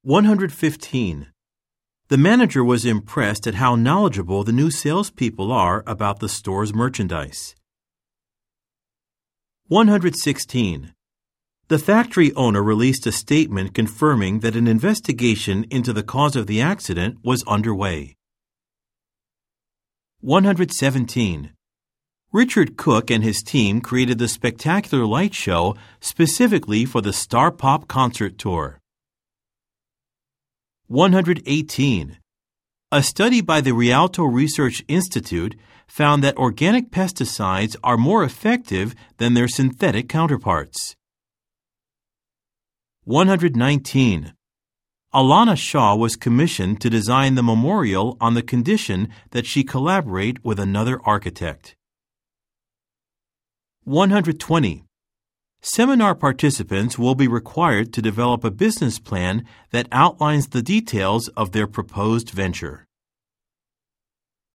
115. The manager was impressed at how knowledgeable the new salespeople are about the store's merchandise. 116. The factory owner released a statement confirming that an investigation into the cause of the accident was underway. 117. Richard Cook and his team created the spectacular light show specifically for the Star Pop concert tour. 118. A study by the Rialto Research Institute found that organic pesticides are more effective than their synthetic counterparts. 119. Alana Shaw was commissioned to design the memorial on the condition that she collaborate with another architect. 120. Seminar participants will be required to develop a business plan that outlines the details of their proposed venture.